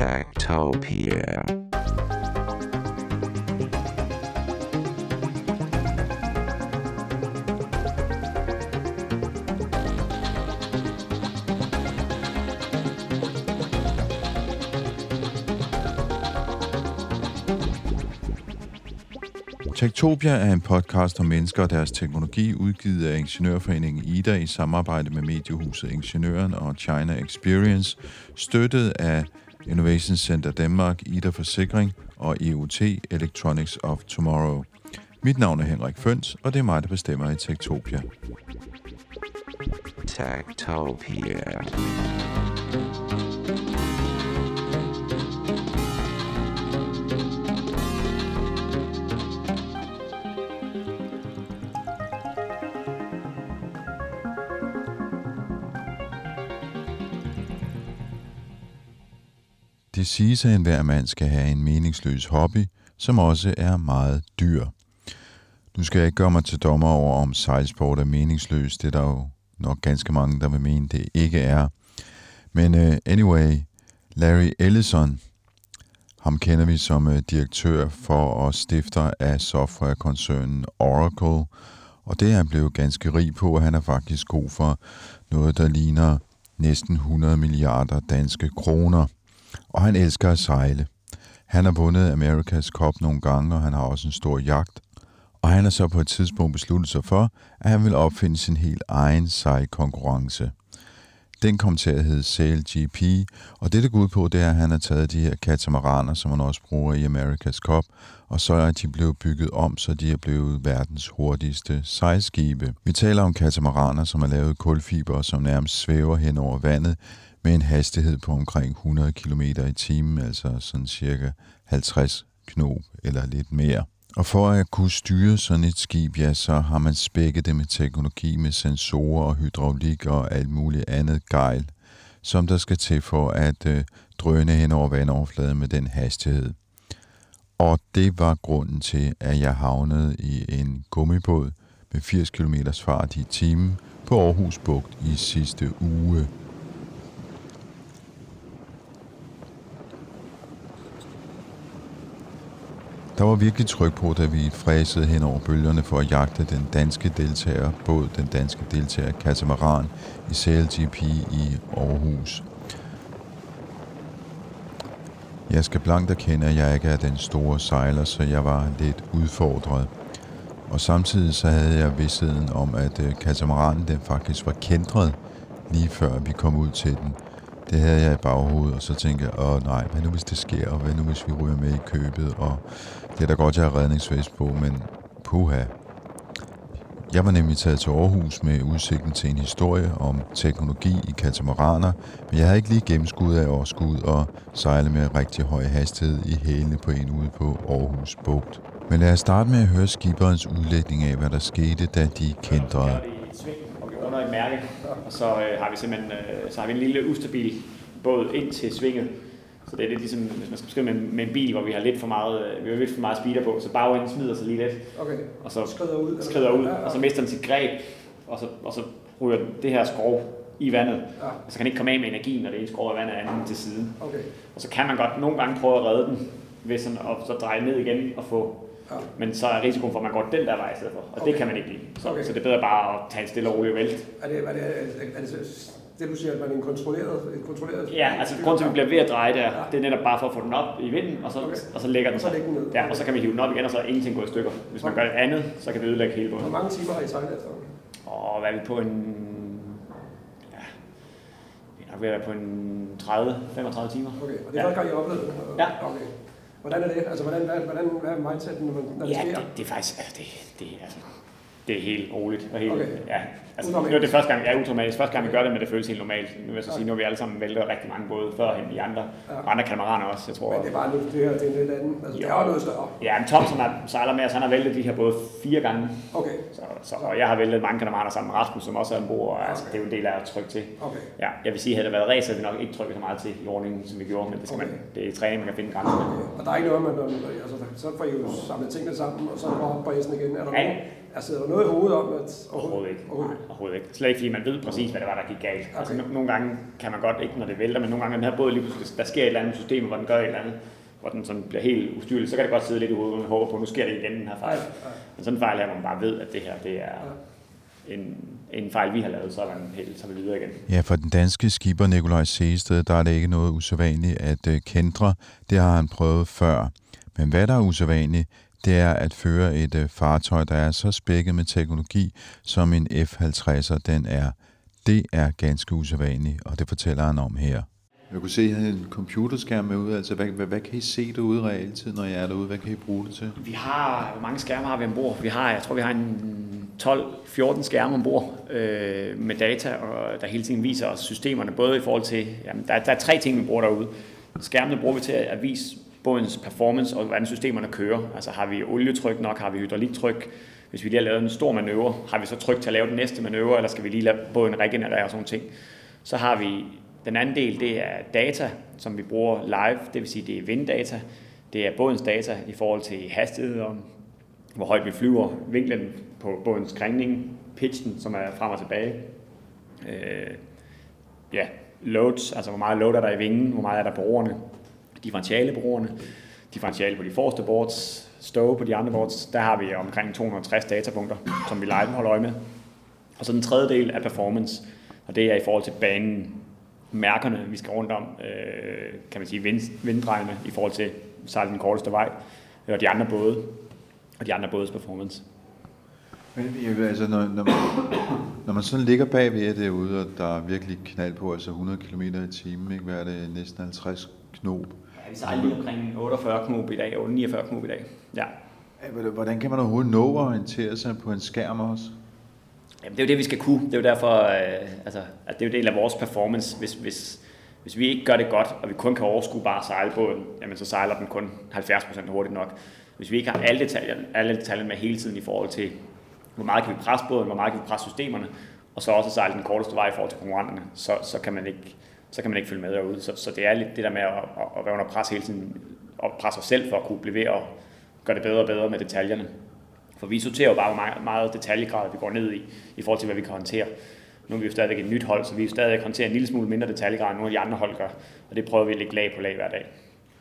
Techtopia. Techtopia er en podcast om mennesker og deres teknologi, udgivet af Ingeniørforeningen IDA i samarbejde med mediehuset Ingeniøren og China Experience, støttet af Innovation Center Danmark, IDA Forsikring og EOT Electronics of Tomorrow. Mit navn er Henrik Føns, og det er mig, der bestemmer i Techtopia. Techtopia. Det siges, at enhver mand skal have en meningsløs hobby, som også er meget dyr. Nu skal jeg ikke gøre mig til dommer over, om sejlsport er meningsløs. Det er der jo nok ganske mange, der vil mene, det ikke er. Men anyway, Larry Ellison, ham kender vi som direktør for og stifter af softwarekoncernen Oracle. Og det er han blevet ganske rig på, og han er faktisk god for noget, der ligner næsten 100 milliarder danske kroner. Og han elsker at sejle. Han har vundet America's Cup nogle gange, og han har også en stor yacht. Og han har så på et tidspunkt besluttet sig for, at han vil opfinde sin helt egen sejlkonkurrence. Den kom til at hedde SailGP, og det går ud på, det er, at han har taget de her katamaraner, som man også bruger i America's Cup, og så er de blevet bygget om, så de er blevet verdens hurtigste sejlskibe. Vi taler om katamaraner, som er lavet kulfiber, og som nærmest svæver hen over vandet, med en hastighed på omkring 100 km i timen, altså sådan cirka 50 knob eller lidt mere. Og for at kunne styre sådan et skib, ja, så har man spækket det med teknologi med sensorer og hydraulik og alt muligt andet gejl, som der skal til for at drøne hen over vandoverfladen med den hastighed. Og det var grunden til, at jeg havnede i en gummibåd med 80 km fart i timen på Aarhus Bugt i sidste uge. Der var virkelig tryk på, da vi fræsede hen over bølgerne for at jagte den danske deltagerbåd, den danske deltager katamaran i SailGP i Aarhus. Jeg skal blankt erkende, at jeg ikke er den store sejler, så jeg var lidt udfordret. Og samtidig så havde jeg vidstheden om, at katamaranen den faktisk var kæntret lige før vi kom ud til den. Det havde jeg i baghovedet, og så tænkte jeg, nej, hvad nu hvis det sker, og hvad nu hvis vi ryger med i købet, og det er da godt, jeg har redningsvest på, men puha. Jeg var nemlig taget til Aarhus med udsigten til en historie om teknologi i katamaraner, men jeg havde ikke lige gennemskud af at skulle ud og sejle med rigtig høj hastighed i hælene på en ude på Aarhus Bugt. Men lad os starte med at høre skiberens udlægning af, hvad der skete, da de kæntrede. Under et mærke, og så har vi simpelthen så har vi en lille ustabil båd ind til svinget. Så det er lidt ligesom, hvis man skal beskrive med en bil, hvor vi har lidt for meget speeder på, så bagenden smider sig lige lidt. Okay. Og så skrider ud, og så mister den sit greb, og så ryger det her skrov i vandet. Ja. Og så kan den ikke komme af med energien, når det ene skrov af vandet er anden til siden. Okay. Og så kan man godt nogle gange prøve at redde den, ved sådan at så dreje ned igen og få. Ja. Men så er risikoen for, at man går den der vej i stedet for. Og det kan man ikke lide. Så det er bedre bare at tage en stille og rolig vælt. Er det du siger, at man er en kontrolleret? Ja, altså grunden til, at vi bliver ved at dreje der, det er netop bare for at få den op i vinden, og så lægger den sig. Ja, og så kan vi hive den op igen, og så er ingenting gået i stykker. Hvis man gør det andet, så kan vi ødelægge hele båden. Hvor mange timer har I sejlet efter? Hvad er vi på en... Ja, vi er nok ved at være på en 30-35 timer. Okay, og det er første gang, I har oplevet det? Ja. Okay. Hvordan er det? Altså, hvad er mindsetten, når det sker? Det er faktisk... Det er helt roligt. Og helt, okay. Ja, altså, nu er det første gang, jeg er utraumatisk. Første gang, vi gør det, men det føles helt normalt. Nu vil jeg så sige, nu har vi alle sammen væltet rigtig mange både førhen i andre katamaraner også, jeg tror. Men det er bare nu, det her, det er en lidt anden. Altså, det er jo noget større. Ja, men Tom, som sejler med os, han har væltet de her både 4 gange. Okay. Og jeg har væltet mange katamaraner sammen med Rasmus, som også er ombord, og altså, det er jo en del af at trykke til. Okay. Ja, jeg vil sige, at havde det været race, havde vi nok ikke trykket så meget til i ordningen, som vi gjorde, men det skal det er i træning, man kan finde grænser. Okay. Og der er ikke noget, man, altså, så får I jo samlet tingene sammen, og så er det bare op på æsen igen. Er der Altså, er der noget i hovedet om, at... Overhovedet ikke. Slet ikke, fordi man ved præcis, hvad det var, der gik galt. Okay. Altså, nogle gange kan man godt, ikke når det vælter, men nogle gange den her båd lige pludselig, der sker et eller andet system, hvor den gør et eller andet, hvor den sådan bliver helt ustyrlig, så kan det godt sidde lidt i hovedet, og man håber på, nu sker det igen, den her fejl. Men sådan en fejl her, hvor man bare ved, at det her, det er en fejl, vi har lavet, så er man helt, så er vi videre igen. Ja, for den danske skipper Nikolaj Seested, der er det ikke noget usædvanligt at kendre. Det har han prøvet før. Men hvad der er usædvanligt, det er at føre et fartøj, der er så spækket med teknologi, som en F-50'er den er. Det er ganske usædvanligt, og det fortæller han om her. Jeg kunne se, at I havde en computerskærm med ude. Altså, hvad kan I se derude realtid, når I er derude? Hvad kan I bruge det til? Hvor mange skærme har vi ombord? Jeg tror, vi har en 12-14 skærme ombord med data, og der hele tiden viser os systemerne, både i forhold til... Jamen, der er 3 ting, vi bruger derude. Skærmene bruger vi til at vise bådens performance og hvordan systemerne kører. Altså har vi olietryk nok, har vi hydrauliktryk? Hvis vi lige har lavet en stor manøvre, har vi så tryk til at lave den næste manøvre, eller skal vi lige lade båden regenerere og sådan ting? Så har vi den anden del, det er data, som vi bruger live, det vil sige, det er vinddata. Det er bådens data i forhold til hastighed, og hvor højt vi flyver, vinklen på bådens krængning, pitchen, som er frem og tilbage. Loads, altså hvor meget load er der i vingen, hvor meget er der på roerne, differentiale på roerne, differentiale på de forreste boards, stow på de andre boards. Der har vi omkring 260 datapunkter, som vi live holder øje med. Og så den tredje del er performance, og det er i forhold til banen, mærkerne, vi skal rundt om, kan man sige, vinddrejene i forhold til sejle den korteste vej, og de andre både, og de andre bådes performance. Men altså, når man sådan ligger bagved derude, og der er virkelig knald på, altså 100 km i timen, ikke? Hvad er det, næsten 50 knob? Ja, vi sejler lige omkring 49 knob i dag, 49 knob i dag, ja. Hvordan kan man overhovedet nå at orientere sig på en skærm også? Jamen, det er jo det, vi skal kunne. Det er jo derfor, at det er jo del af vores performance. Hvis vi ikke gør det godt, og vi kun kan overskue bare sejlbåden, jamen så sejler den kun 70% hurtigt nok. Hvis vi ikke har alle detaljer med hele tiden i forhold til, hvor meget kan vi presse båden, hvor meget kan vi presse systemerne, og så også sejle den korteste vej i forhold til konkurrenterne, så kan man ikke følge med derude. Så det er lidt det der med at være under pres hele tiden, og presse os selv for at kunne blive ved og gøre det bedre og bedre med detaljerne. For vi sorterer jo bare meget detaljegrad, vi går ned i forhold til, hvad vi kan håndtere. Nu er vi jo stadigvæk et nyt hold, så vi stadig håndterer en lille smule mindre detaljegrad, end nogle af de andre hold gør. Og det prøver vi at lægge lag på lag hver dag.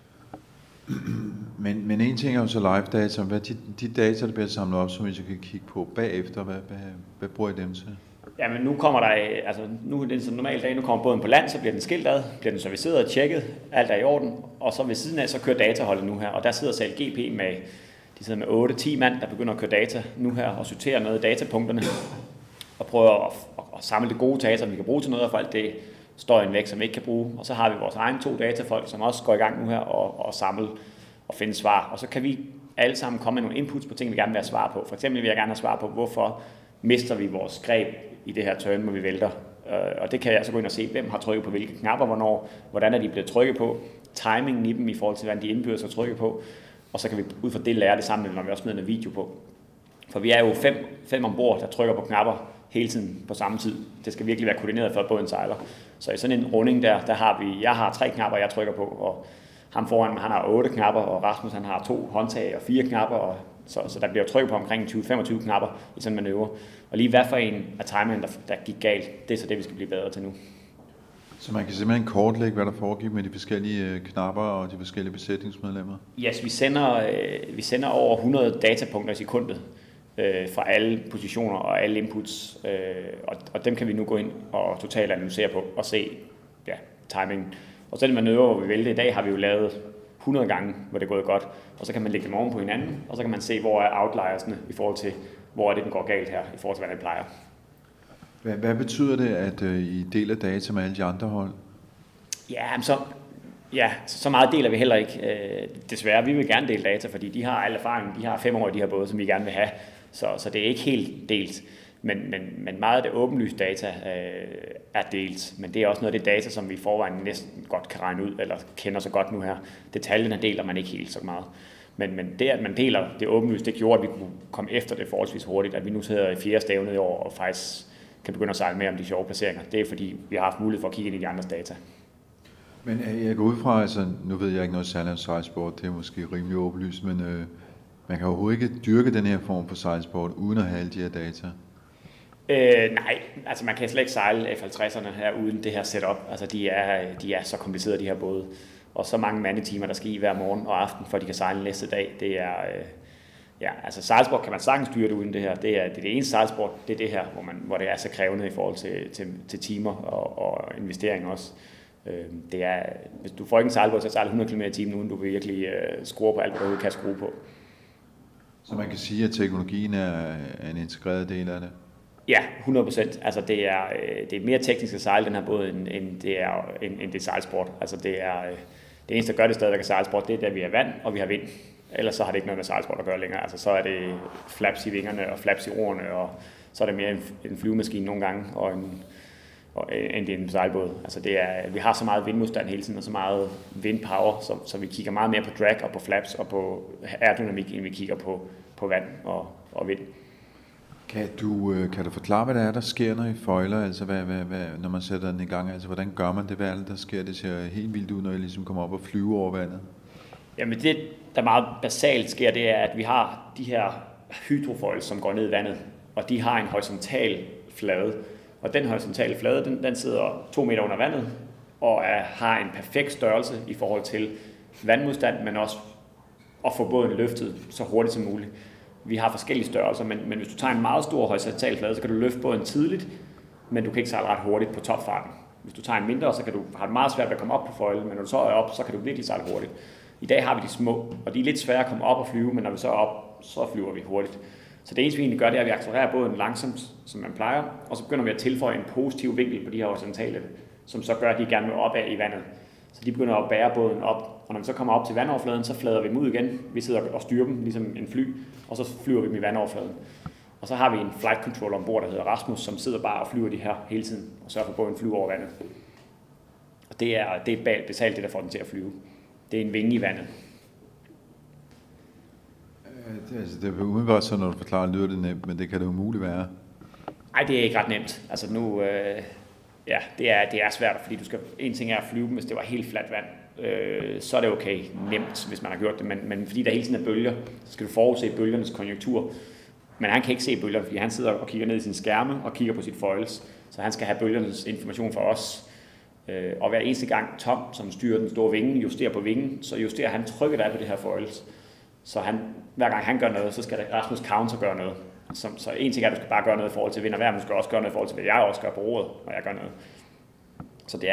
Men en ting er jo så live data. Hvad de data, der bliver samlet op, som vi så kan kigge på bagefter, hvad bruger I dem til? Jamen nu kommer der, altså nu er det en normal dag, nu kommer båden på land, så bliver den skilt ad, bliver den serviceret og tjekket, alt er i orden. Og så ved siden af, så kører dataholdet nu her, og der sidder CLGP med... De sidder med 8-10 mand, der begynder at køre data nu her og sortere noget af datapunkterne og prøver at samle det gode data, som vi kan bruge til noget, og for alt det støjen væk, som vi ikke kan bruge. Og så har vi vores egne 2 datafolk, som også går i gang nu her og samle og finde svar. Og så kan vi alle sammen komme med nogle inputs på ting, vi gerne vil have svar på. For eksempel vil jeg gerne have svar på, hvorfor mister vi vores greb i det her turn, hvor vi vælter. Og det kan jeg så gå ind og se, hvem har trykket på hvilke knapper, hvornår, hvordan er de blevet trykket på, timingen i dem i forhold til, hvordan de indbydes at trykke på. Og så kan vi ud fra det lære det sammen, når vi også smider en video på. For vi er jo 5 ombord, der trykker på knapper hele tiden på samme tid. Det skal virkelig være koordineret, for at båden sejler. Så i sådan en runding der har jeg har 3 knapper, jeg trykker på, og ham foran, han har 8 knapper, og Rasmus han har 2 håndtag og 4 knapper, og så der bliver trykket på omkring 20-25 knapper i sådan en manøvre. Og lige hvad for en af timingen, der gik galt, det er så det, vi skal blive bedre til nu. Så man kan simpelthen kortlægge, hvad der foregik med de forskellige knapper og de forskellige besætningsmedlemmer? Yes, vi sender over 100 datapunkter i sekundet fra alle positioner og alle inputs, og dem kan vi nu gå ind og totalt analysere på og se timingen. Og så den manøvre, hvor vi vælter i dag, har vi jo lavet 100 gange, hvor det er gået godt, og så kan man lægge dem oven på hinanden, og så kan man se, hvor er outliersne i forhold til, hvor er det, den går galt her, i forhold til, hvad det plejer. Hvad betyder det, at I deler data med alle de andre hold? Så meget deler vi heller ikke. Desværre, vi vil gerne dele data, fordi de har al erfaring, de har 5 år i de her både, som vi gerne vil have. Så det er ikke helt delt. Men meget af det åbenlyst data er delt. Men det er også noget af det data, som vi i forvejen næsten godt kan regne ud, eller kender så godt nu her. Detaljerne deler man ikke helt så meget. Men det, at man deler det åbenlyst, det gjorde, at vi kunne komme efter det forholdsvis hurtigt. At vi nu sidder i 4. stævnet i år, og faktisk kan begynde at sejle mere om de sjove placeringer. Det er fordi, vi har haft mulighed for at kigge ind i de andres data. Men jeg går ud fra, altså nu ved jeg ikke noget særligt om sejlsport, det er måske rimelig åbenlyst, men Man kan overhovedet ikke dyrke den her form for sejlsport, uden at have alle de her data. Nej, altså man kan slet ikke sejle F50'erne her uden det her setup. Altså de er så komplicerede, de her både. Og så mange mandetimer, der skal i hver morgen og aften, for de kan sejle næste dag. Det er, altså sejlsport kan man sagtens styre det uden det her. Det er det eneste sejlsport, det er det her, hvor det er så krævende i forhold til timer og investering også. Det er, hvis du får ikke en sejlbåd til at sejle 100 km i timen, uden du vil virkelig skrue på alt, hvad du kan skrue på. Så man kan sige, at teknologien er en integreret del af det? Ja, 100%. Altså det er mere teknisk at sejle den her båd, end det er sejlsport. Altså det eneste, der gør det stadigvæk af sejlsport, det er, at vi har vand, og vi har vind. Ellers så har det ikke noget med sejlsport at gøre længere. Altså så er det flaps i vingerne og flaps i roerne, og så er det mere en flyvemaskine nogle gange, end det er en sejlbåd. Altså vi har så meget vindmodstand hele tiden, og så meget vindpower, så vi kigger meget mere på drag og på flaps og på aerodynamik, end vi kigger på vand og vind. Kan du forklare, hvad det er, der sker, når I foiler? Altså, når man sætter den i gang? Altså, hvordan gør man det? Hvad er det, der sker? Det ser helt vildt ud, når I ligesom kommer op og flyver over vandet. Jamen det, der meget basalt sker, det er, at vi har de her hydrofoils, som går ned i vandet, og de har en horisontal flade. Og den horisontale flade, den sidder 2 meter under vandet, og har en perfekt størrelse i forhold til vandmodstand, men også at få båden løftet så hurtigt som muligt. Vi har forskellige størrelser, men hvis du tager en meget stor horisontal flade, så kan du løfte båden tidligt, men du kan ikke sejle ret hurtigt på topfarten. Hvis du tager en mindre, så kan du have det meget svært ved at komme op på foilen, men når du så er op, så kan du virkelig sejle hurtigt. I dag har vi de små, og de er lidt svære at komme op og flyve, men når vi så er op, så flyver vi hurtigt. Så det eneste, vi egentlig gør, det er, at vi accelererer båden langsomt, som man plejer, og så begynder vi at tilføje en positiv vinkel på de her horisontale, som så gør, at de gerne vil opad i vandet. Så de begynder at bære båden op, og når vi så kommer op til vandoverfladen, så flader vi dem ud igen. Vi sidder og styrer dem, ligesom en fly, og så flyver vi dem i vandoverfladen. Og så har vi en flight controller ombord, der hedder Rasmus, som sidder bare og flyver de her hele tiden, og sørger for, at båden flyver over vandet. Og det er basalt det, der får den til at flyve. Det er en vinge i vandet. Det er umiddelbart så, når du forklarer, lyder det nemt, men det kan det umuligt være. Nej, det er ikke ret nemt. Altså nu, det er svært, fordi en ting er at flyve, hvis det var helt fladt vand, så er det okay nemt, hvis man har gjort det, men fordi der hele tiden er bølger, så skal du forudse bølgernes konjunktur. Men han kan ikke se bølgerne, fordi han sidder og kigger ned i sin skærme og kigger på sit foils, så han skal have bølgernes information fra os. Og hver eneste gang Tom, som styrer den store vinge, justerer på vingen, så justerer han trykket der på det her foils. Så hver gang han gør noget, så skal Rasmus counter gøre noget. Så en ting er, at du skal bare gøre noget i forhold til vind og vejr, men du skal også gøre noget i forhold til, hvad jeg også gør på roret, når jeg gør noget. Så det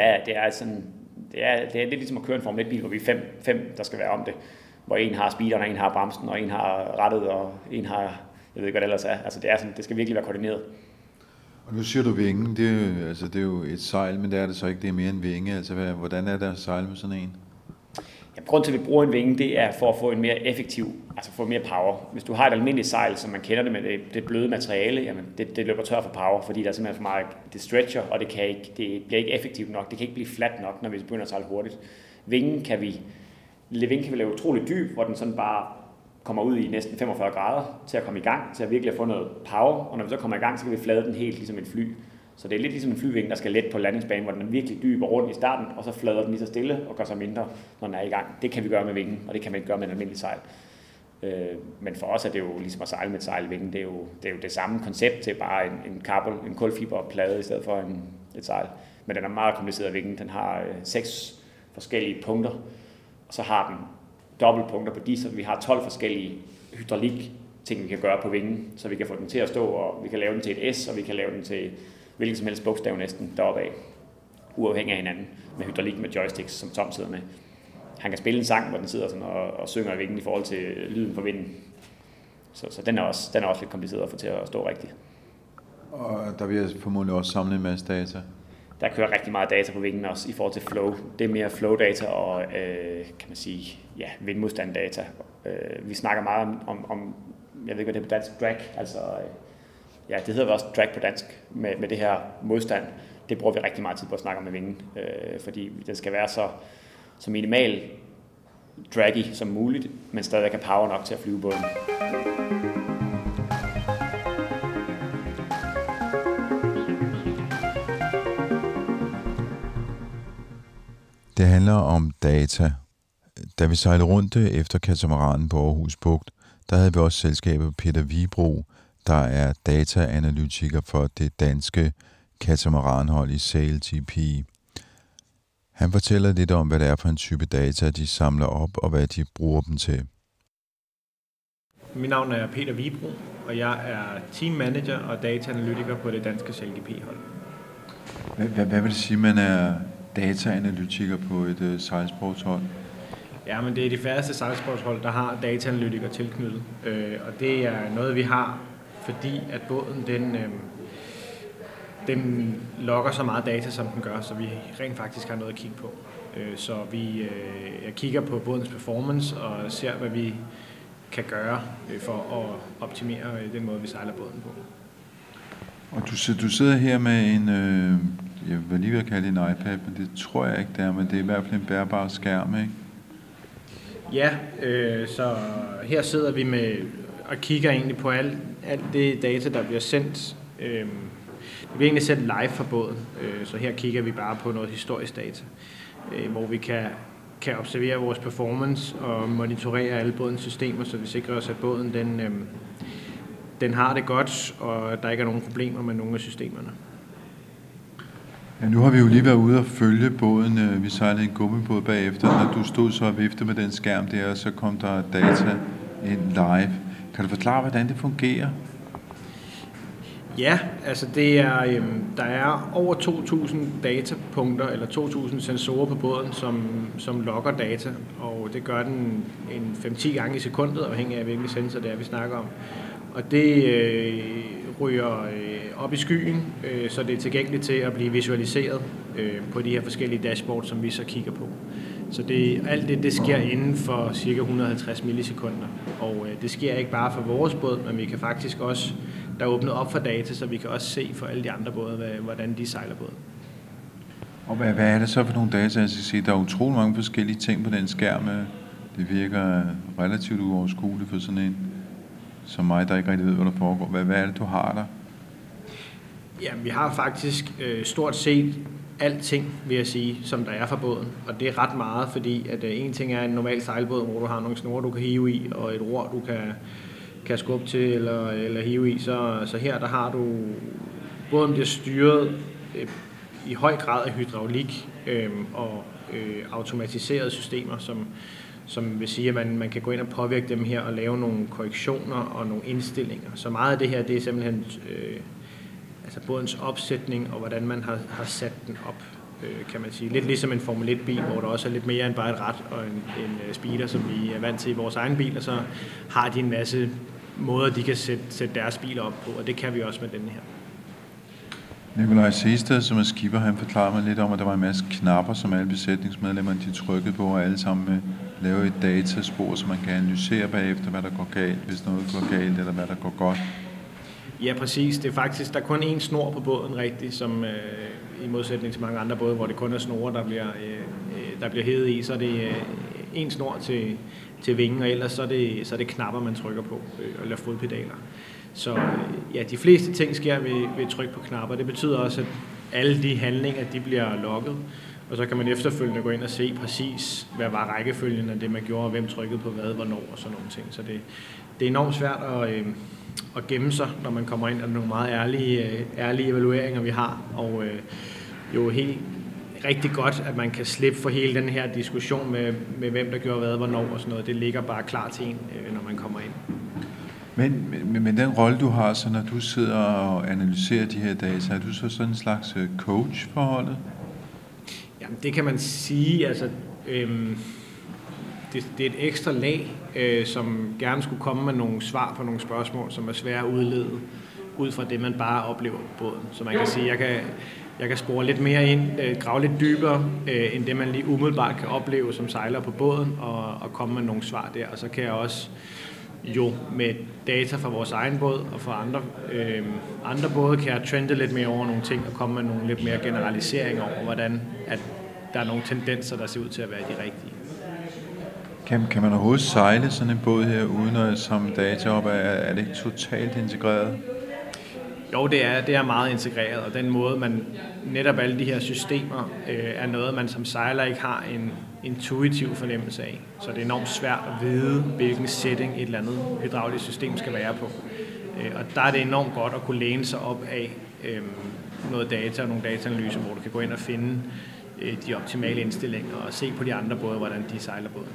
er lidt ligesom at køre en Formel 1-bil, hvor vi er fem, der skal være om det. Hvor en har speederen, og en har bremsen, og en har rattet, og en har, jeg ved ikke, hvad det ellers er. Altså det skal virkelig være koordineret. Og nu siger du vingen, det er jo et sejl, men det er det så ikke, det er mere en vinge. Altså hvordan er det at sejle med sådan en? Ja, grunden til, at vi bruger en vinge, det er for at få en mere effektiv, altså få mere power. Hvis du har et almindeligt sejl, som man kender det med det bløde materiale, jamen det løber tør for power, fordi der er simpelthen for meget, det stretcher, og det bliver ikke effektivt nok. Det kan ikke blive fladt nok, når vi begynder at sejle hurtigt. Vingen kan vi lave utroligt dyb, hvor den sådan bare kommer ud i næsten 45 grader til at komme i gang, til at virkelig få noget power, og når vi så kommer i gang, så kan vi flade den helt ligesom et fly. Så det er lidt ligesom en flyvinge, der skal let på landingsbanen, hvor den er virkelig dyb og rundt i starten, og så flader den lige så stille og gør sig mindre, når den er i gang. Det kan vi gøre med vingen, og det kan man ikke gøre med en almindelig sejl. Men for os er det jo ligesom at sejle med et sejl i vingen. Det er jo det samme koncept til bare en kulfiberplade i stedet for et sejl. Men den er meget kompliceret vingen. Den har 6 forskellige punkter, og så har den dobbeltpunkter på de, så vi har 12 forskellige hydraulik ting, vi kan gøre på vingen, så vi kan få den til at stå, og vi kan lave den til et S, og vi kan lave den til hvilken som helst bogstav næsten deroppe af, uafhængig af hinanden, med hydraulik med joysticks, som Tom sidder med. Han kan spille en sang, hvor den sidder sådan og synger i vingen i forhold til lyden fra vinden. Så den er også lidt kompliceret at få til at stå rigtigt. Og der vil formodentlig også samle en masse data. Der kører rigtig meget data på vingen også i forhold til flow. Det er mere flow-data og, kan man sige, vindmodstand-data. Vi snakker meget om, jeg ved ikke, hvad det er på dansk, drag, altså, det hedder også drag på dansk, med det her modstand. Det bruger vi rigtig meget tid på at snakke om med vingen, fordi den skal være så minimal draggy som muligt, men stadig have power nok til at flyve båden. Det handler om data. Da vi sejlede rundt efter katamaranen på Aarhus Bugt, der havde vi også selskabet Peter Vibro, der er dataanalytiker for det danske katamaranhold i SailGP. Han fortæller lidt om, hvad det er for en type data, de samler op, og hvad de bruger dem til. Mit navn er Peter Vibro, og jeg er team manager og dataanalytiker på det danske SailGP-hold. Hvad vil det sige, man er dataanalytiker på et sejlsportshold? Ja, men det er de færreste sejlsportshold, der har dataanalytikere tilknyttet. Og det er noget, vi har, fordi at båden den logger så meget data, som den gør, så vi rent faktisk har noget at kigge på. Så jeg kigger på bådens performance og ser, hvad vi kan gøre for at optimere den måde, vi sejler båden på. Og du sidder her med en, jeg vil lige ved at kalde det en iPad, men det tror jeg ikke, det er, men det er i hvert fald en bærbar skærm, ikke? Ja, så her sidder vi med og kigger egentlig på alt det data, der bliver sendt. Det bliver egentlig sendt live fra båden, så her kigger vi bare på noget historisk data, hvor vi kan observere vores performance og monitorere alle bådens systemer, så vi sikrer os, at båden den har det godt, og der ikke er nogen problemer med nogle af systemerne. Ja, nu har vi jo lige været ude og følge båden. Vi sejlede en gummibåd bagefter. Når du stod så og viftede med den skærm der, så kom der data ind live. Kan du forklare, hvordan det fungerer? Ja, altså der er over 2.000 datapunkter eller 2.000 sensorer på båden, som logger data, og det gør den en 5-10 gange i sekundet, afhængig af hvilke sensor det er, vi snakker om. Og det ryger op i skyen, så det er tilgængeligt til at blive visualiseret på de her forskellige dashboards, som vi så kigger på. Så alt det sker inden for ca. 150 millisekunder, og det sker ikke bare for vores båd, men vi kan faktisk også, der er åbnet op for data, så vi kan også se for alle de andre både, hvordan de sejler båden. Og hvad er det så for nogle data, jeg skal sige? Der er utrolig mange forskellige ting på den skærm. Det virker relativt uoverskueligt for sådan en som mig, der ikke rigtig ved, hvad der foregår. Hvad er det, du har der? Jamen, vi har faktisk stort set alting, vil jeg sige, som der er fra båden. Og det er ret meget, fordi at en ting er en normal sejlbåd, hvor du har nogle snore, du kan hive i, og et ror, du kan skubbe til eller hive i. Så her der har du, båden bliver styret i høj grad af hydraulik og automatiserede systemer, som vil sige, at man kan gå ind og påvirke dem her og lave nogle korrektioner og nogle indstillinger. Så meget af det her, det er simpelthen altså bådens opsætning og hvordan man har sat den op, kan man sige. Lidt ligesom en Formel 1-bil, hvor der også er lidt mere end bare et rat og en speeder, som vi er vant til i vores egen bil, og så har de en masse måder, de kan sætte deres biler op på, og det kan vi også med denne her. Nikolaj Seested, som er skipper, han forklarede mig lidt om, at der var en masse knapper, som alle besætningsmedlemmerne de trykkede på, og alle sammen lave et dataspor, så man kan analysere bagefter, hvad der går galt, hvis noget går galt, eller hvad der går godt. Ja, præcis. Det er faktisk, der er kun én snor på båden, rigtigt, som i modsætning til mange andre både, hvor det kun er snore, der bliver hævet i, så er det én snor til vingen, og ellers så er det knapper, man trykker på, eller fodpedaler. Så ja, de fleste ting sker ved tryk på knapper. Det betyder også, at alle de handlinger, de bliver logget, og så kan man efterfølgende gå ind og se præcis, hvad var rækkefølgen af det, man gjorde, og hvem trykkede på hvad, hvornår og sådan nogle ting. Så det er enormt svært at gemme sig, når man kommer ind, og nogle meget ærlige evalueringer, vi har, og jo helt rigtig godt, at man kan slippe for hele den her diskussion med hvem der gjorde hvad, hvornår og sådan noget. Det ligger bare klar til en, når man kommer ind. Men den rolle, du har, så når du sidder og analyserer de her data, er du så sådan en slags coach for holdet? Jamen, det kan man sige. Altså, det er et ekstra lag, som gerne skulle komme med nogle svar på nogle spørgsmål, som er svære at udlede ud fra det, man bare oplever på båden. Så man kan sige, jeg kan spore lidt mere ind, grave lidt dybere, end det, man lige umiddelbart kan opleve som sejler på båden, og komme med nogle svar der. Og så kan jeg også jo med data fra vores egen båd og fra andre både kan jeg trende lidt mere over nogle ting og komme med nogle lidt mere generaliseringer over, hvordan at der er nogle tendenser, der ser ud til at være de rigtige. Kan man overhovedet sejle sådan en båd her, uden at samle data op? Er det ikke totalt integreret? Jo, det er meget integreret, og den måde, man netop alle de her systemer er noget, man som sejler ikke har intuitiv fornemmelse af. Så det er enormt svært at vide, hvilken setting et eller andet hydraulisk system skal være på. Og der er det enormt godt at kunne læne sig op af noget data og nogle dataanalyser, hvor du kan gå ind og finde de optimale indstillinger og se på de andre både, hvordan de sejler båden.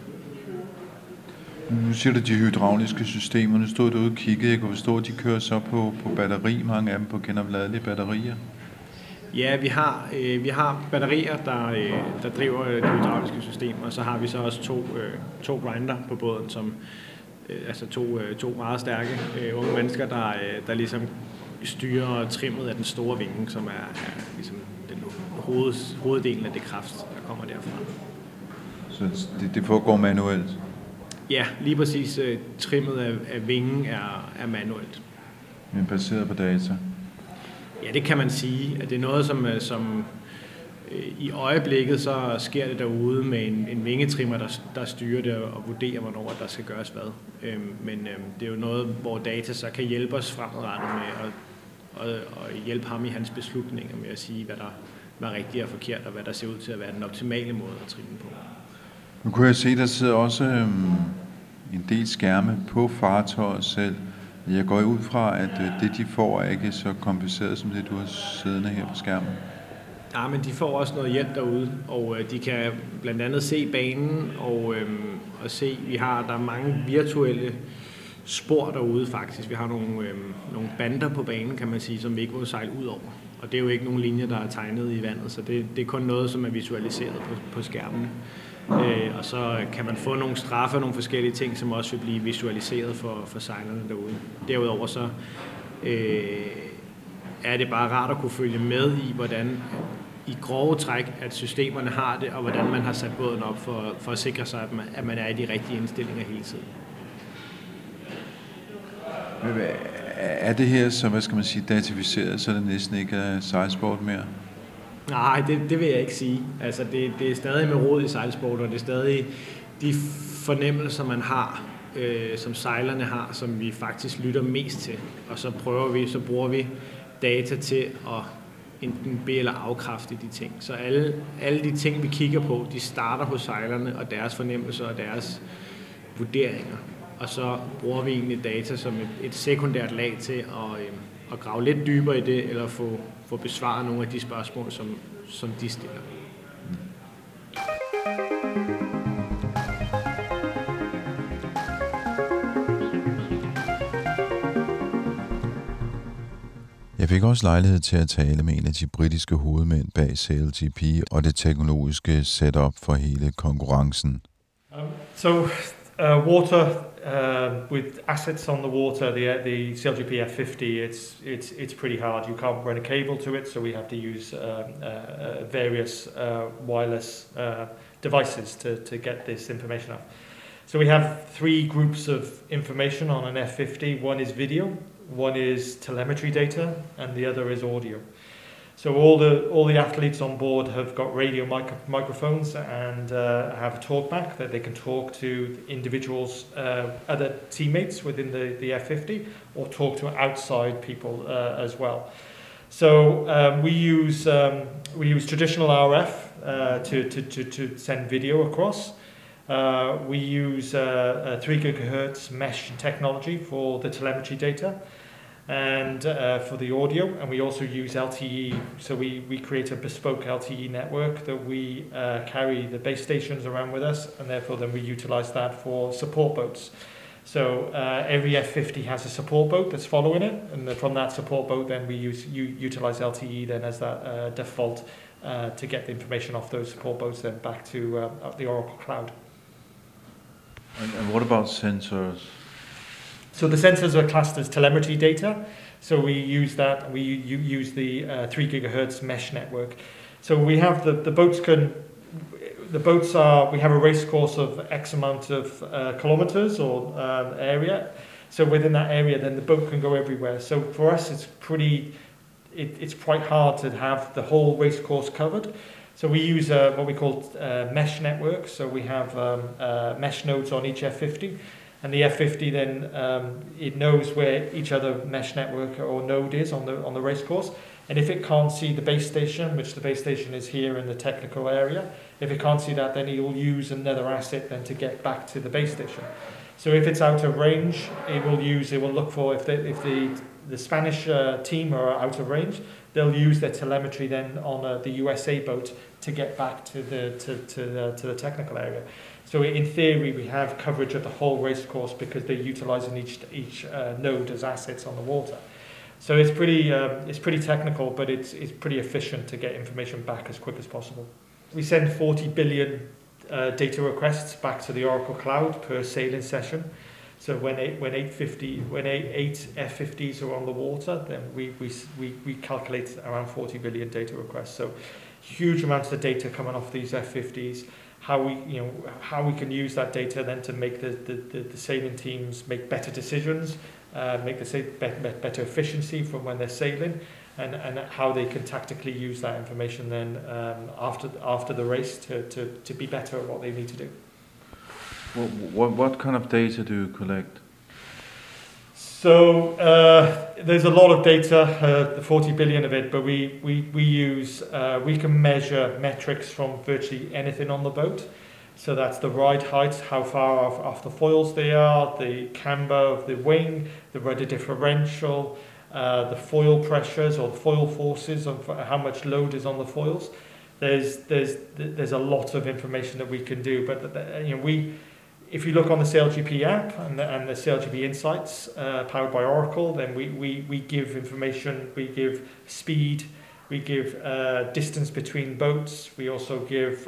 Nu siger du de hydrauliske systemer. Nu stod du ude og kiggede. Jeg kunne forstå, at de kører så på batteri, mange af dem på genopladelige batterier. Ja, vi har batterier, der driver de hydrauliske systemer, og så har vi så også to grinder på båden, som altså to meget stærke unge mennesker, der ligesom styrer trimmet af den store vinge, som er ligesom den hoveddelen af det kraft, der kommer derfra. Så det foregår manuelt? Ja, lige præcis. Trimmet af vingen er manuelt. Men baseret på data? Ja, det kan man sige. At det er noget, som i øjeblikket så sker det derude med en vingetrimmer, der styrer det og vurderer, hvornår der skal gøres hvad. Men det er jo noget, hvor data så kan hjælpe os fremadrettet med at hjælpe ham i hans beslutninger med at sige, hvad der er rigtigt og forkert, og hvad der ser ud til at være den optimale måde at trimme på. Nu kunne jeg se, der sidder også en del skærme på fartøjet selv. Jeg går ud fra, at det de får er ikke så kompliceret som det, du har siddende her på skærmen. Ja, men de får også noget hjælp derude, og de kan blandt andet se banen og se, der er mange virtuelle spor derude faktisk. Vi har nogle bander på banen, kan man sige, som vi ikke må sejle ud over. Og det er jo ikke nogen linjer, der er tegnet i vandet, så det er kun noget, som er visualiseret på skærmen. Og så kan man få nogle straffe og nogle forskellige ting, som også vil blive visualiseret for sejlerne derude. Derudover så er det bare rart at kunne følge med i, hvordan i grove træk, at systemerne har det, og hvordan man har sat båden op for at sikre sig, at man er i de rigtige indstillinger hele tiden. Er det her så, hvad skal man sige, datificeret, så det næsten ikke er sejlsport mere? Nej, det vil jeg ikke sige. Altså, det er stadig med rod i sejlsport, og det er stadig de fornemmelser, man har, som sejlerne har, som vi faktisk lytter mest til. Og så bruger vi data til at enten be- eller afkræfte de ting. Så alle de ting, vi kigger på, de starter hos sejlerne og deres fornemmelser og deres vurderinger. Og så bruger vi egentlig data som et sekundært lag til at grave lidt dybere i det, eller få besvaret nogle af de spørgsmål, som de stiller. Jeg fik også lejlighed til at tale med en af de britiske hovedmænd bag SailGP og det teknologiske setup for hele konkurrencen. Water, with assets on the water, the SailGP F50, it's pretty hard. You can't run a cable to it, so we have to use various wireless devices to get this information up. So we have three groups of information on an F50. One is video, one is telemetry data, and the other is audio. So all the athletes on board have got radio microphones and have a talkback that they can talk to individuals, other teammates within the F50, or talk to outside people as well. So we use traditional RF to send video across. We use 3 GHz mesh technology for the telemetry data. And for the audio, and we also use LTE, so we create a bespoke LTE network that we carry the base stations around with us, and therefore then we utilize that for support boats. So every F50 has a support boat that's following it, and from that support boat then we utilize LTE then as that default to get the information off those support boats then back to the Oracle Cloud. And what about sensors? So the sensors are classed as telemetry data. So we use that. We use the 3 GHz mesh network. So we have the boats we have a race course of X amount of kilometers or area. So within that area, then the boat can go everywhere. So for us, it's quite hard to have the whole race course covered. So we use what we call mesh network. So we have mesh nodes on each F50. And the F50 then it knows where each other mesh network or node is on the race course, And if it can't see the base station, which the base station is here in the technical area, if it can't see that, then it will use another asset then to get back to the base station. So if it's out of range, it will look for, if the Spanish team are out of range, they'll use their telemetry then on the USA boat to get back to the technical area. So in theory, we have coverage of the whole race course because they're utilising each node as assets on the water. So it's pretty technical, but it's pretty efficient to get information back as quick as possible. We send 40 billion data requests back to the Oracle Cloud per sailing session. So when eight F50s are on the water, then we calculate around 40 billion data requests. So huge amounts of data coming off these F50s. How we can use that data then to make the sailing teams make better decisions, make better efficiency from when they're sailing, and how they can tactically use that information then after the race to be better at what they need to do. What kind of data do you collect? So there's a lot of data, the 40 billion of it, but we can measure metrics from virtually anything on the boat. So that's the ride height, how far off the foils they are, the camber of the wing, the rudder differential, the foil pressures or the foil forces, of how much load is on the foils. There's a lot of information that we can do, but if you look on the SailGP app and the SailGP Insights powered by Oracle, then we give information, we give speed, we give distance between boats, we also give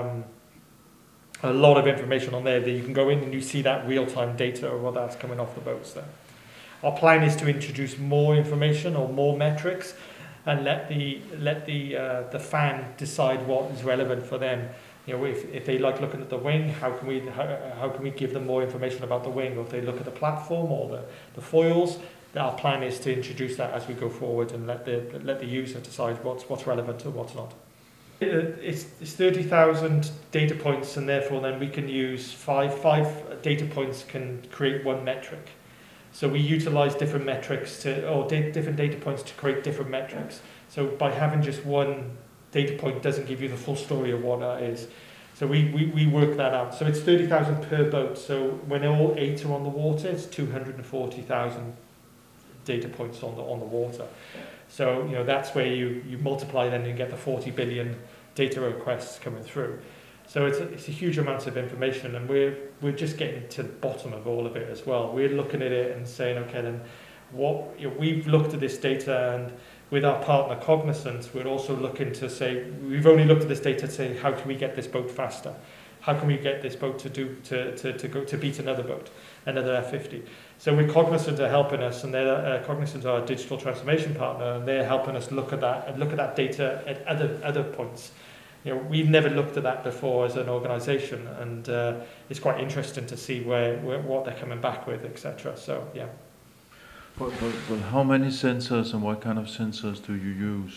a lot of information on there that you can go in and you see that real-time data or what that's coming off the boats there. Our plan is to introduce more information or more metrics and let the fan decide what is relevant for them. If they like looking at the wing, how can we give them more information about the wing? Or if they look at the platform or the foils, our plan is to introduce that as we go forward and let the user decide what's relevant and what's not. It's 30,000 data points, and therefore then we can use five data points can create one metric. So we utilize different metrics different data points to create different metrics. So by having just one data point doesn't give you the full story of what that is. So we work that out. So it's 30,000 per boat. So when all 8 are on the water, it's 240,000 data points on the water. So that's where you multiply then and get the 40 billion data requests coming through. So it's a huge amount of information, and we're just getting to the bottom of all of it as well. We're looking at it and saying, okay, then we've looked at this data, and with our partner Cognizant, we're also looking to say, we've only looked at this data to say, how can we get this boat faster? How can we get this boat to beat another boat, another F50? So with Cognizant are helping us, and Cognizant are our digital transformation partner, and they're helping us look at that data at other points. We've never looked at that before as an organisation, and it's quite interesting to see what they're coming back with, etc. So yeah. But how many sensors and what kind of sensors do you use?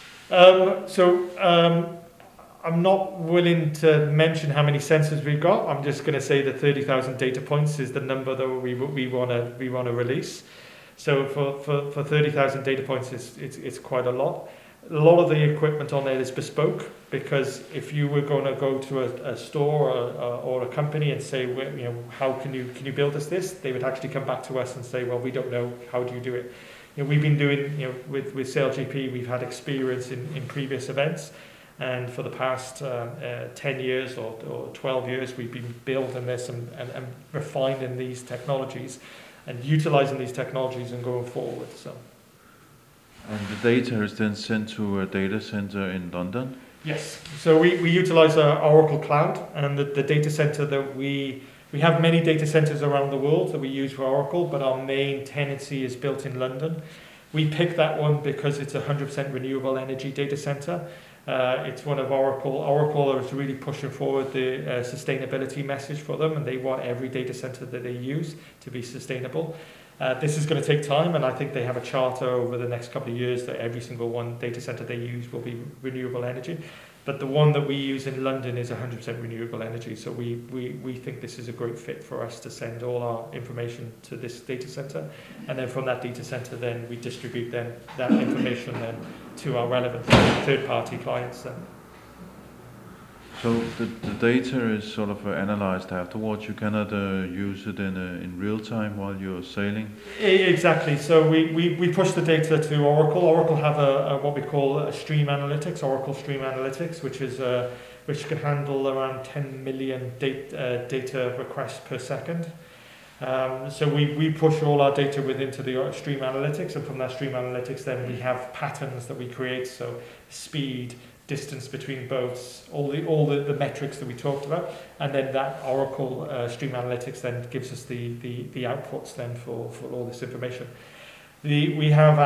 I'm not willing to mention how many sensors we've got. I'm just going to say that 30,000 data points is the number that we want to release. So for 30,000 data points, it's quite a lot. A lot of the equipment on there is bespoke, because if you were going to go to a store or a company and say, how can you build us this, they would actually come back to us and say, well, we don't know, how do you do it? We've been doing, with SailGP, we've had experience in previous events, and for the past 10 years or 12 years, we've been building this and refining these technologies and utilising these technologies and going forward. So. And the data is then sent to a data center in London? Yes. So we utilise our Oracle Cloud, and the data center that we have many data centers around the world that we use for Oracle, but our main tenancy is built in London. We picked that one because it's a 100% renewable energy data center. It's one of Oracle. Oracle is really pushing forward the sustainability message for them, and they want every data center that they use to be sustainable. This is going to take time, and I think they have a charter over the next couple of years that every single one data center they use will be renewable energy. But the one that we use in London is 100% renewable energy, so we think this is a great fit for us to send all our information to this data center, and then from that data center then we distribute then that information then to our relevant third-party clients then. So the data is sort of analyzed afterwards. You cannot use it in real time while you're sailing. Exactly. So we push the data to Oracle. Oracle have a what we call a Stream Analytics, Oracle Stream Analytics, which can handle around 10 million data requests per second. So we push all our data into the Stream Analytics, and from that Stream Analytics, then we have patterns that we create. So speed, distance between boats, all the metrics that we talked about, and then that Oracle Stream Analytics then gives us the outputs then for all this information. We have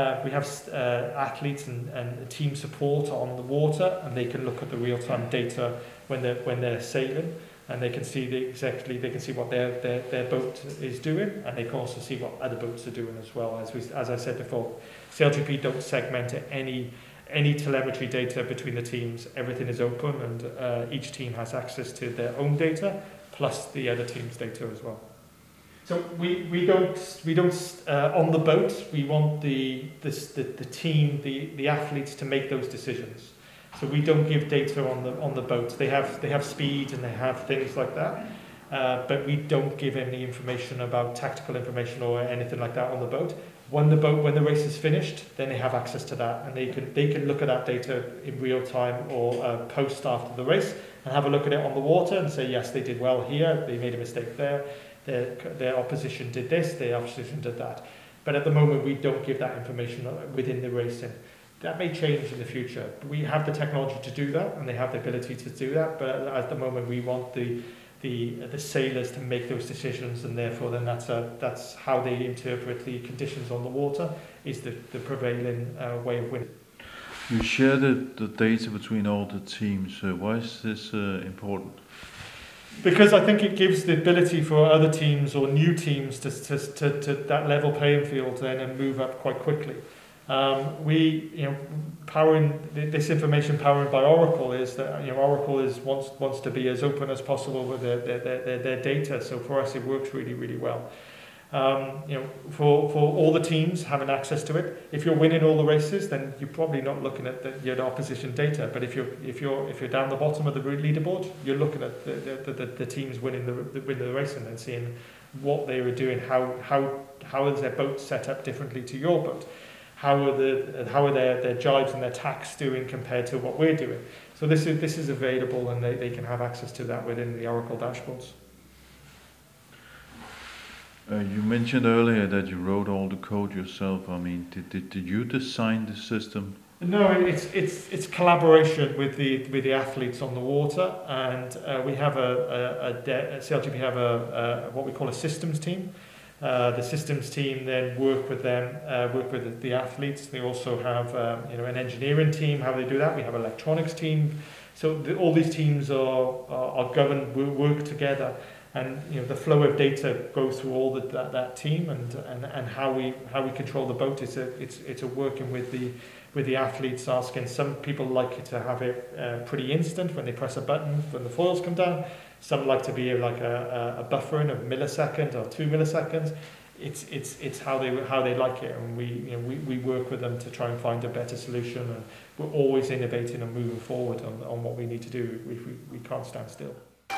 athletes and team support on the water, and they can look at the real-time data when they're sailing, and they can see what their boat is doing, and they can also see what other boats are doing as well. As I said before, SailGP don't segment any telemetry data between the teams. Everything is open, and each team has access to their own data plus the other team's data as well. So we don't on the boat. We want the team, the athletes to make those decisions. So we don't give data on the boat. They have speed and they have things like that, but we don't give any information about tactical information or anything like that on the boat. When the race is finished, then they have access to that, and they can look at that data in real time or post after the race and have a look at it on the water and say, yes, they did well here, they made a mistake there, their opposition did this, their opposition did that. But at the moment, we don't give that information within the racing. That may change in the future. We have the technology to do that, and they have the ability to do that, but at the moment, we want the sailors to make those decisions, and therefore then that's how they interpret the conditions on the water, is the prevailing way of winning. You share the data between all the teams. Why is this important? Because I think it gives the ability for other teams or new teams to that level playing field then and move up quite quickly. Powering this information powered by Oracle is that Oracle wants to be as open as possible with their data. So for us, it works really, really well. For all the teams having access to it. If you're winning all the races, then you're probably not looking at your opposition data. But if you're down the bottom of the leaderboard, you're looking at the teams winning the race and then seeing what they were doing. How is their boat set up differently to your boat? How are their jibes and their tacks doing compared to what we're doing? So this is available, and they can have access to that within the Oracle dashboards. You mentioned earlier that you wrote all the code yourself. I mean, did you design the system? No, it's collaboration with the athletes on the water, and we have SailGP have what we call a systems team. The systems team then work with the athletes. They also have an engineering team. How they do that? We have an electronics team. So all these teams are governed, work together, and the flow of data goes through all that team, and how we control the boat. It's a working with the athletes, asking. Some people like to have it pretty instant when they press a button when the foils come down. Some like to be like a buffering of millisecond or 2 milliseconds. It's how they like it, and we work with them to try and find a better solution. And we're always innovating and moving forward on what we need to do. We can't stand still.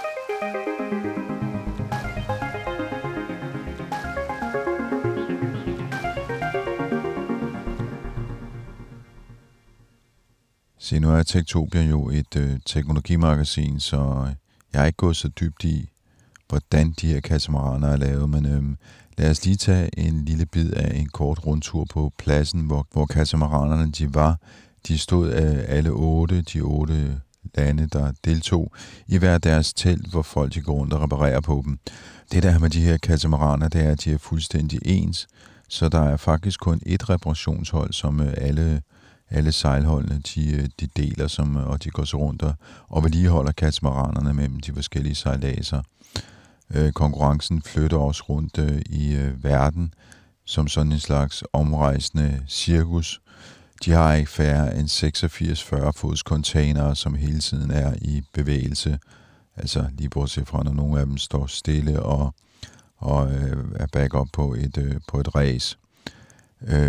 Se, nu er Techtopia jo et teknologimagasin, så jeg har ikke gået så dybt i, hvordan de her katamaraner er lavet, men lad os lige tage en lille bid af en kort rundtur på pladsen, hvor katamaranerne de var. De stod af alle de 8 lande, der deltog i hver deres telt, hvor folk de går rundt og reparerer på dem. Det der med de her katamaraner, det er, at de er fuldstændig ens, så der er faktisk kun et reparationshold, som alle sejlholdene de deler, og de går så rundt og vedligeholder katamaranerne mellem de forskellige sejladser. Konkurrencen flytter også rundt i verden som sådan en slags omrejsende cirkus. De har ikke færre end 86 40-fods containere, som hele tiden er i bevægelse. Altså lige bortset fra, når nogle af dem står stille og er back up på et race.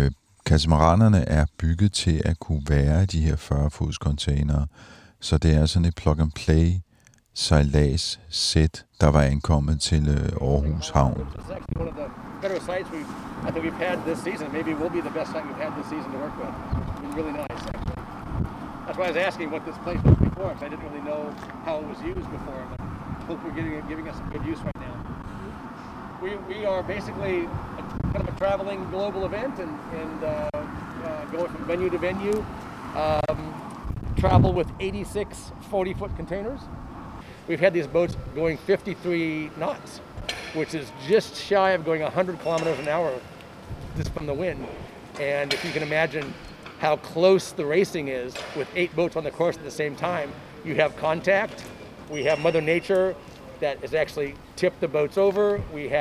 Katamaranerne er bygget til at kunne være de her 40-fods containere, så det er sådan et plug-and-play sejlads-sæt, der var ankommet til Aarhus Havn. Better sites I think we've had this season. Maybe it will be the best site we've had this season to work with. It's been really nice, actually. That's why I was asking what this place was before, because I didn't really know how it was used before. But I hope we're giving us some good use right now. We are basically kind of a traveling global event and going from venue to venue. Travel with 86 40-foot containers. We've had these boats going 53 knots, which is just shy of going 100 kilometers an hour just from the wind. And if you can imagine how close the racing is with 8 boats on the course at the same time, you have contact. We have Mother Nature that has actually tipped the boats over. We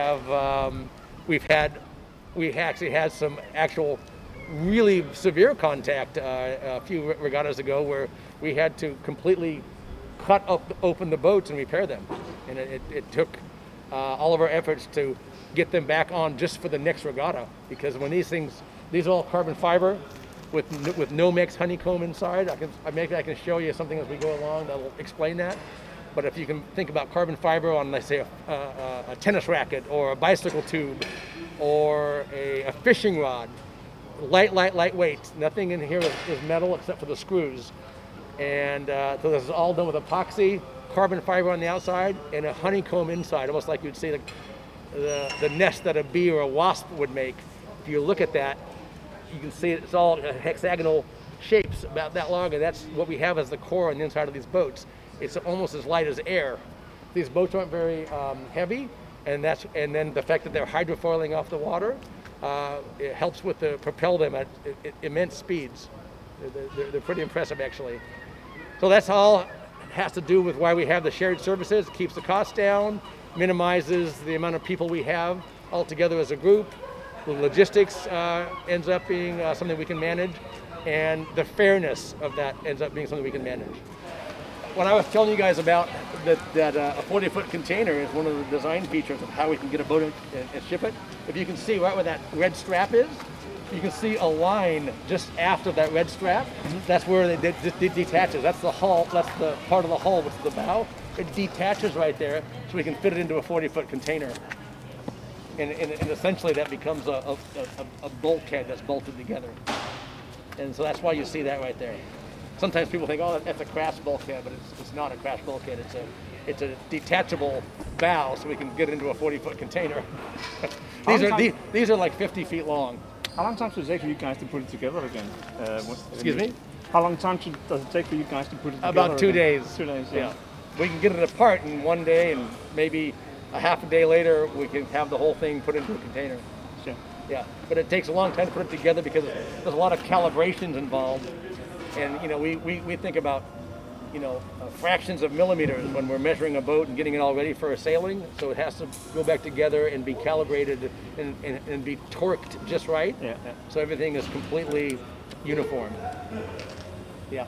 actually had some actual really severe contact a few regattas ago where we had to completely cut open the boats and repair them. And it took all of our efforts to get them back on just for the next regatta, because when these are all carbon fiber with Nomex honeycomb inside. I can show you something as we go along that'll explain that. But if you can think about carbon fiber on, let's say, a tennis racket or a bicycle tube or a fishing rod, lightweight. Nothing in here is metal except for the screws. And so this is all done with epoxy, carbon fiber on the outside, and a honeycomb inside, almost like you'd see the nest that a bee or a wasp would make. If you look at that, you can see it's all hexagonal shapes about that long, and that's what we have as the core on the inside of these boats. It's almost as light as air. These boats aren't very heavy, and then the fact that they're hydrofoiling off the water, it helps propel them at immense speeds. They're pretty impressive, actually. So that's all has to do with why we have the shared services. It keeps the costs down, minimizes the amount of people we have all together as a group. The logistics ends up being something we can manage, and the fairness of that ends up being something we can manage. When I was telling you guys about that a 40-foot container is one of the design features of how we can get a boat and ship it, if you can see right where that red strap is, you can see a line just after that red strap. That's where it detaches. That's the hull. That's the part of the hull, which is the bow. It detaches right there, so we can fit it into a 40-foot container. And essentially that becomes a bulkhead that's bolted together. And so that's why you see that right there. Sometimes people think, oh, that's a crash bulkhead, but it's not a crash bulkhead. It's a detachable bow, so we can get into a 40-foot container. These are like 50 feet long. How long time does it take for you guys to put it together again? Excuse me? How long time does it take for you guys to put it together? About 2 days. 2 days, yeah. We can get it apart in 1 day, and maybe a half a day later, we can have the whole thing put into a container. Sure. Yeah, but it takes a long time to put it together because there's a lot of calibrations involved. And, we think about, fractions of millimeters when we're measuring a boat and getting it all ready for a sailing. So it has to go back together and be calibrated and be torqued just right. Yeah. So everything is completely uniform. Yeah.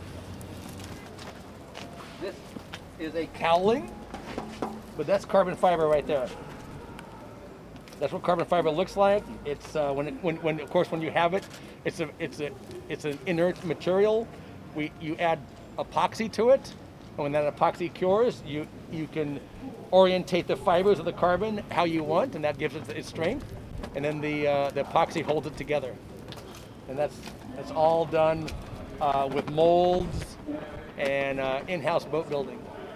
This is a cowling, but that's carbon fiber right there. That's what carbon fiber looks like. It's when you have it, it's an inert material. You add epoxy to it, and when that epoxy cures, you can orientate the fibers of the carbon how you want, and that gives it its strength. And then the epoxy holds it together. And that's all done with molds and in-house boat building.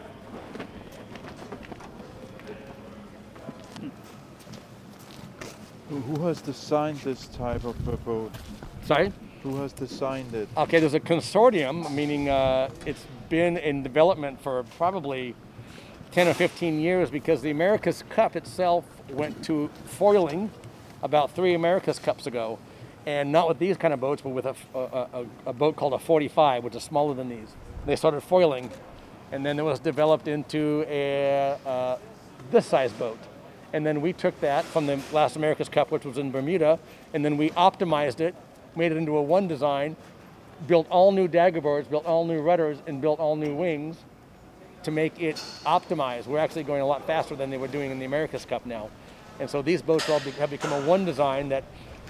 Who has designed this type of boat? Sorry? Who has designed it? Okay, there's a consortium, meaning it's been in development for probably 10 or 15 years, because the America's Cup itself went to foiling about 3 America's Cups ago. And not with these kind of boats, but with a boat called a 45, which is smaller than these. They started foiling, and then it was developed into this size boat. And then we took that from the last America's Cup, which was in Bermuda, and then we optimized it, made it into a one design, built all new daggerboards, built all new rudders, and built all new wings to make it optimized. We're actually going a lot faster than they were doing in the America's Cup now. And so these boats all have become a one design that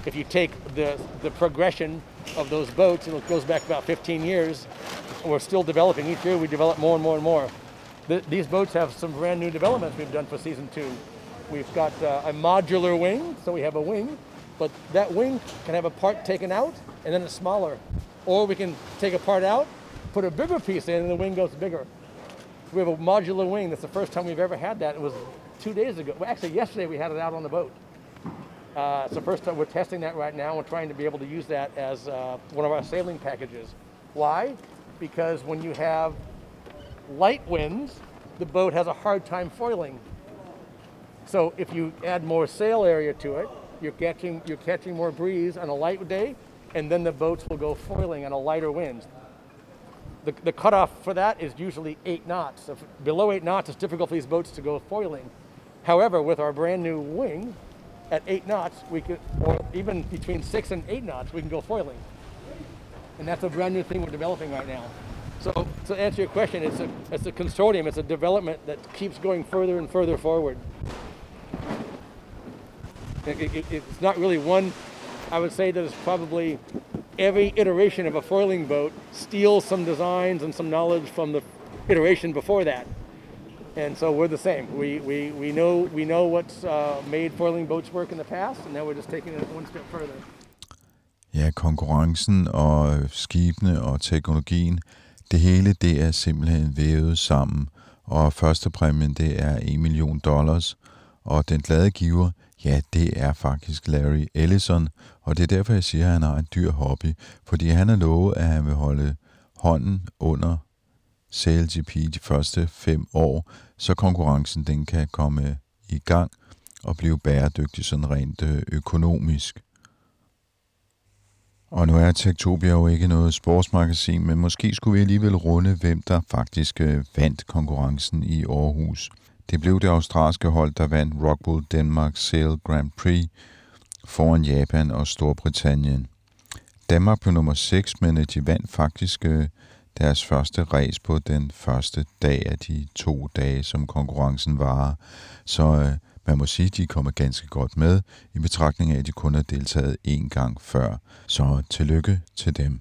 if you take the progression of those boats, and it goes back about 15 years, and we're still developing. Each year we develop more and more and more. These boats have some brand new developments we've done for season 2. We've got a modular wing, so we have a wing, but that wing can have a part taken out and then it's smaller. Or we can take a part out, put a bigger piece in, and the wing goes bigger. We have a modular wing. That's the first time we've ever had that. It was 2 days ago. Well, actually, yesterday we had it out on the boat. It's the first time we're testing that right now. We're trying to be able to use that as one of our sailing packages. Why? Because when you have light winds, the boat has a hard time foiling. So if you add more sail area to it, you're catching more breeze on a light day, and then the boats will go foiling on a lighter wind. The cutoff for that is usually 8 knots. So below 8 knots, it's difficult for these boats to go foiling. However, with our brand new wing, at 8 knots, we could, or even between 6 and 8 knots, we can go foiling. And that's a brand new thing we're developing right now. So to answer your question, it's a consortium, it's a development that keeps going further and further forward. It's not really one. I would say that it's probably every iteration of a foiling boat steals some designs and some knowledge from the iteration before that. And so we're the same. We know what's made foiling boats work in the past, and now we're just taking it one step further. Ja, konkurrencen og skibene og teknologien, det hele det er simpelthen vævet sammen. Og førstepræmien det er $1 million, og den glade giver, ja, det er faktisk Larry Ellison, og det er derfor, jeg siger, at han har en dyr hobby, fordi han har lovet, at han vil holde hånden under SailGP de første 5 år, så konkurrencen den kan komme i gang og blive bæredygtig sådan rent økonomisk. Og nu er Techtopia jo ikke noget sportsmagasin, men måske skulle vi alligevel runde, hvem der faktisk vandt konkurrencen i Aarhus. Det blev det australske hold, der vandt Rockwool Denmark Sail Grand Prix foran Japan og Storbritannien. Danmark blev nummer 6, men de vandt faktisk deres første race på den første dag af de 2 dage, som konkurrencen varer. Så man må sige, at de kommer ganske godt med, i betragtning af, at de kun har deltaget 1 gang før. Så tillykke til dem.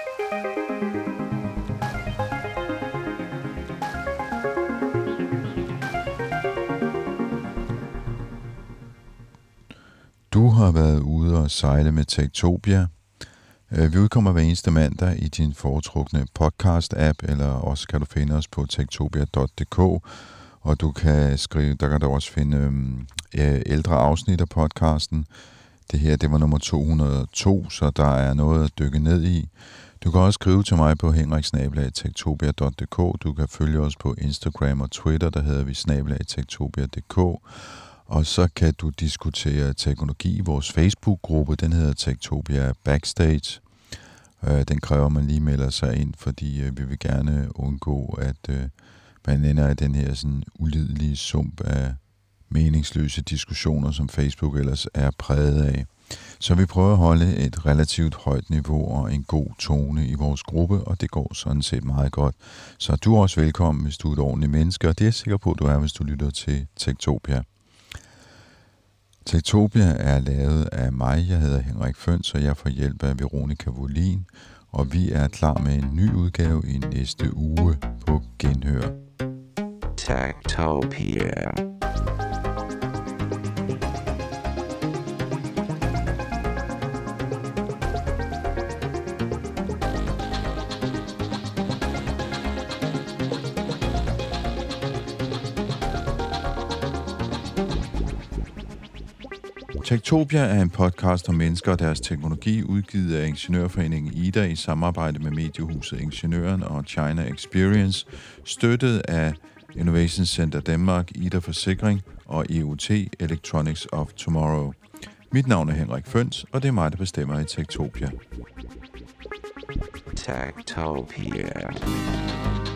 Du har været ude og sejle med Techtopia. Vi udkommer hver eneste mandag i din foretrukne podcast-app, eller også kan du finde os på techtopia.dk, og du kan skrive, der kan du også finde ældre afsnit af podcasten. Det her, det var nummer 202, så der er noget at dykke ned i. Du kan også skrive til mig på henrik@techtopia.dk. Du kan følge os på Instagram og Twitter, der hedder vi @techtopia.dk. Og så kan du diskutere teknologi i vores Facebook-gruppe. Den hedder Techtopia Backstage. Den kræver, man lige melder sig ind, fordi vi vil gerne undgå, at man ender i den her sådan ulidelige sump af meningsløse diskussioner, som Facebook ellers er præget af. Så vi prøver at holde et relativt højt niveau og en god tone i vores gruppe, og det går sådan set meget godt. Så du er også velkommen, hvis du er et ordentligt menneske, og det er jeg sikker på, at du er, hvis du lytter til Techtopia. Techtopia er lavet af mig. Jeg hedder Henrik Føns, og jeg får hjælp af Veronica Volin, og vi er klar med en ny udgave i næste uge på Genhør. Techtopia. Techtopia er en podcast om mennesker og deres teknologi, udgivet af Ingeniørforeningen IDA i samarbejde med mediehuset Ingeniøren og China Experience, støttet af Innovation Center Denmark, IDA Forsikring og EOT Electronics of Tomorrow. Mit navn er Henrik Føns, og det er mig, der bestemmer i Techtopia. Techtopia.